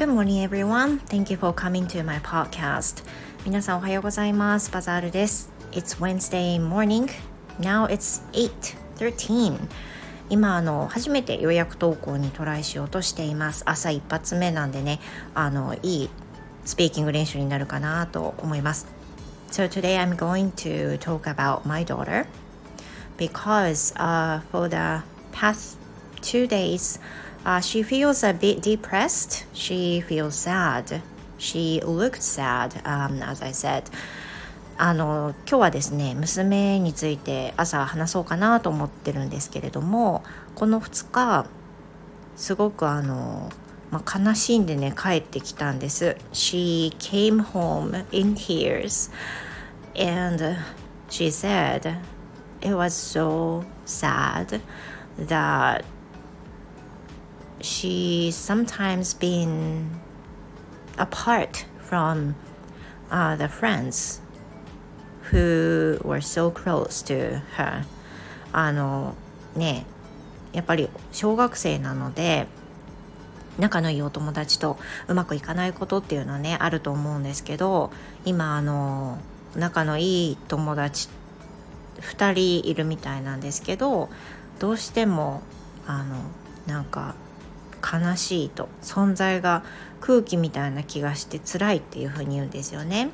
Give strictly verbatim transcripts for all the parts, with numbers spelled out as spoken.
Good morning, everyone. Thank you for coming to my podcast. 皆さんおはようございます。バザールです。It's Wednesday morning. Now it's eight thirteen. 今あの初めて予約投稿にトライしようとしています。朝一発目なんでね、あのいいスピーキング練習になるかなと思います。So today I'm going to talk about my daughter because uh, for the past two days,Uh, she feels a bit depressed. She feels sad. She looked sad, um, as I said. あの今日はですね、娘について朝話そうかなと思ってるんですけれども、このふつかすごくあの、まあ、悲しんでね帰ってきたんです。She came home in tears and she said it was so sad that.She's sometimes been apart from uh, the friends who were so close to her. あのね、やっぱり小学生なので仲のいいお友達とうまくいかないことっていうのはねあると思うんですけど、今あの仲のいい友達ふたりいるみたいなんですけど、どうしてもあのなんか悲しいと、存在が空気みたいな気がして辛いっていう風に言うんですよね。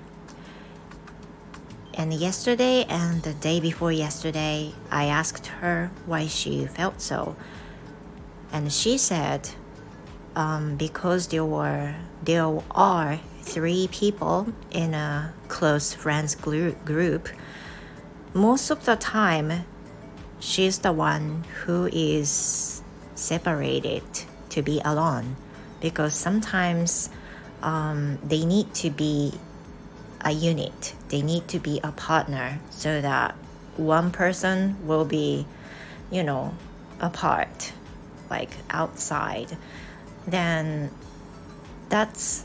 And yesterday and the day before yesterday I asked her why she felt so, and she said um, because there were there are three people in a close friends group. Most of the time she's the one who is separated to be alone, because sometimes um, they need to be a unit, they need to be a partner, so that one person will be, you know, apart, like outside. Then that's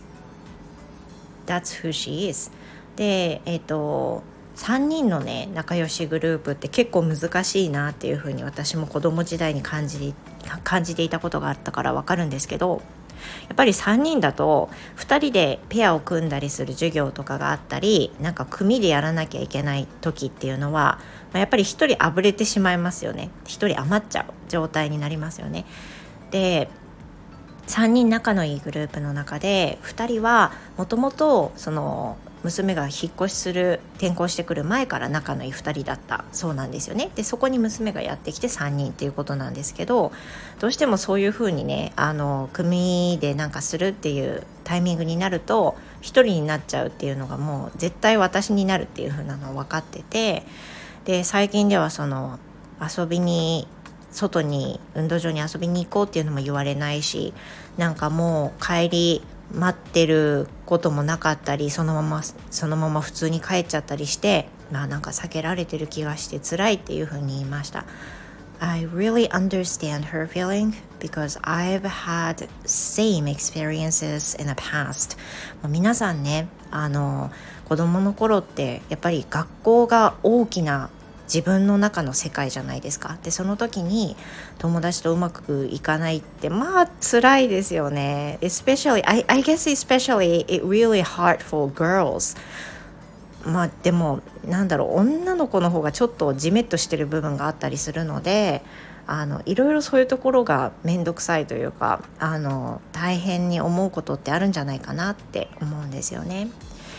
that's who she is. で、えっとさんにんのね仲良しグループって結構難しいなっていう風に私も子供時代に感じ感じていたことがあったからわかるんですけど、やっぱりさんにんだとふたりでペアを組んだりする授業とかがあったり、なんか組でやらなきゃいけない時っていうのは、まあ、やっぱりひとりあぶれてしまいますよね。ひとり余っちゃう状態になりますよね。で、さんにん仲のいいグループの中でふたりはもともとその娘が引っ越しする転校してくる前から仲のいいふたりだったそうなんですよね。でそこに娘がやってきてさんにんっていうことなんですけど、どうしてもそういう風にねあの組でなんかするっていうタイミングになるとひとりになっちゃうっていうのがもう絶対私になるっていう風なのは分かってて、で最近ではその遊びに外に運動場に遊びに行こうっていうのも言われないし、なんかもう帰り待ってることもなかったり、そのままそのまま普通に帰っちゃったりして、まあなんか避けられてる気がして辛いっていうふうに言いました。 I really understand her feeling because I've had same experiences in the past. 皆さんね、あの子供の頃ってやっぱり学校が大きな自分の中の世界じゃないですか。でその時に友達とうまくいかないってまあ辛いですよね。 Especially I, I guess especially it really hard for girls. まあでもなんだろう、女の子の方がちょっとジメッとしてる部分があったりするので、あのいろいろそういうところがめんどくさいというか、あの大変に思うことってあるんじゃないかなって思うんですよね。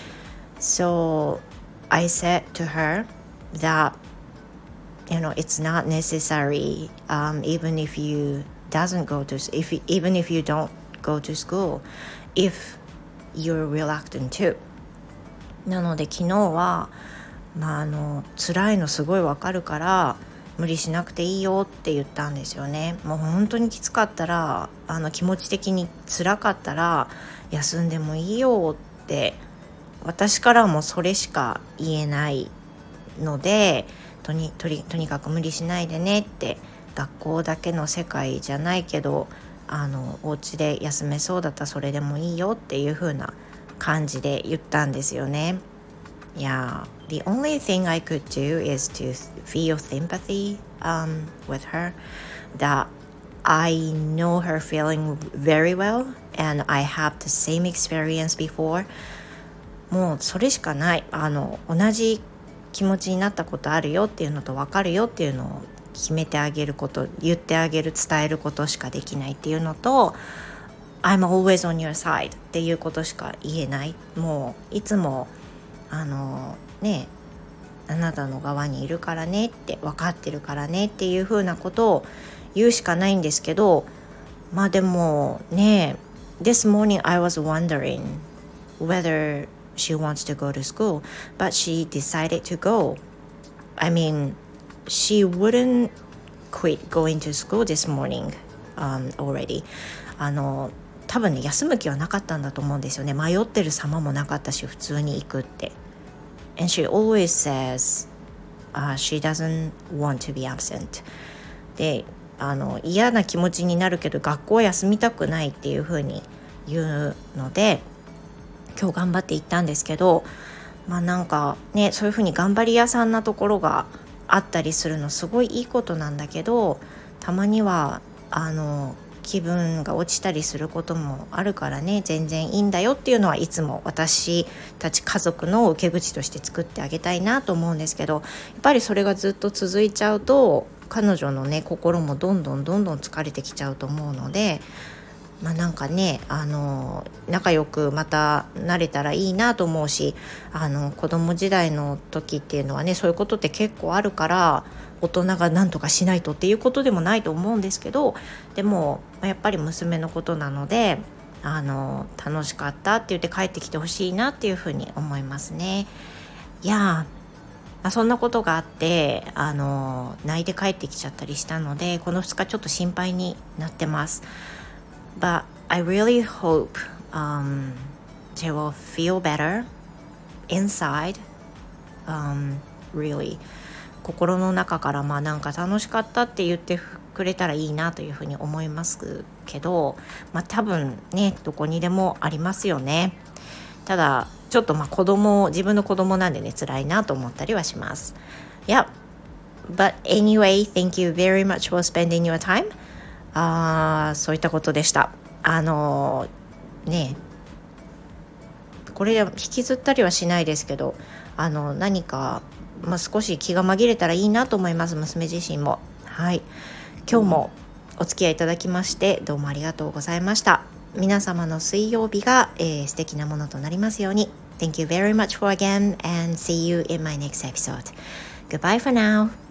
So I said to her that you know it's not necessary um, even if you doesn't go to if even if you don't go to school if you're reluctant to. なので昨日はまああの辛いのすごいわかるから無理しなくていいよって言ったんですよね。もう本当にきつかったら、あの気持ち的に辛かったら休んでもいいよって、私からもそれしか言えないので、とに、とに、とにかく無理しないでねって、学校だけの世界じゃないけどあのお家で休めそうだったらそれでもいいよっていう風な感じで言ったんですよね。Yeah, the only thing I could do is to feel sympathy um, with her, that I know her feeling very well and I have the same experience before. もうそれしかない。あの同じ気持ちになったことあるよっていうのと分かるよっていうのを決めてあげること、言ってあげる、伝えることしかできないっていうのと、I'm always on your side っていうことしか言えない。もういつもあのね、あなたの側にいるからねって、分かってるからねっていう風なことを言うしかないんですけど、まあでもね、This morning I was wondering whether she wants to go to school, but she decided to go. I mean, she wouldn't quit going to school this morning um, already. あの多分ね、休む気はなかったんだと思うんですよね。迷ってる様もなかったし、普通に行くって。And she always says、uh, she doesn't want to be absent. で、あの嫌な気持ちになるけど学校休みたくないっていう風に言うので、今日頑張って行ったんですけど、まあなんかね、そういう風に頑張り屋さんなところがあったりするのすごいいいことなんだけど、たまにはあの気分が落ちたりすることもあるからね、全然いいんだよっていうのはいつも私たち家族の受け口として作ってあげたいなと思うんですけど、やっぱりそれがずっと続いちゃうと彼女のね、心もどんどんどんどん疲れてきちゃうと思うので、まあなんかね、あの仲良くまたなれたらいいなと思うし、あの子供時代の時っていうのはね、そういうことって結構あるから、大人が何とかしないとっていうことでもないと思うんですけど、でもやっぱり娘のことなので、あの楽しかったって言って帰ってきてほしいなっていうふうに思いますね。いやー、まあ、そんなことがあってあの泣いて帰ってきちゃったりしたので、このふつかちょっと心配になってます。But I really hope、um, they will feel better inside、um, really 心の中から、まあなんか楽しかったって言ってくれたらいいなというふうに思いますけど、まあ多分ね、どこにでもありますよね。ただちょっとまあ子供、自分の子供なんでね、辛いなと思ったりはします。Yeah, but anyway, thank you very much for spending your time. あー、そういったことでした。あのー、ね、これ引きずったりはしないですけど、あの何か、まあ、少し気が紛れたらいいなと思います、娘自身も。はい、今日もお付き合いいただきましてどうもありがとうございました。皆様の水曜日が、えー、素敵なものとなりますように。 Thank you very much for again and see you in my next episode. Goodbye for now.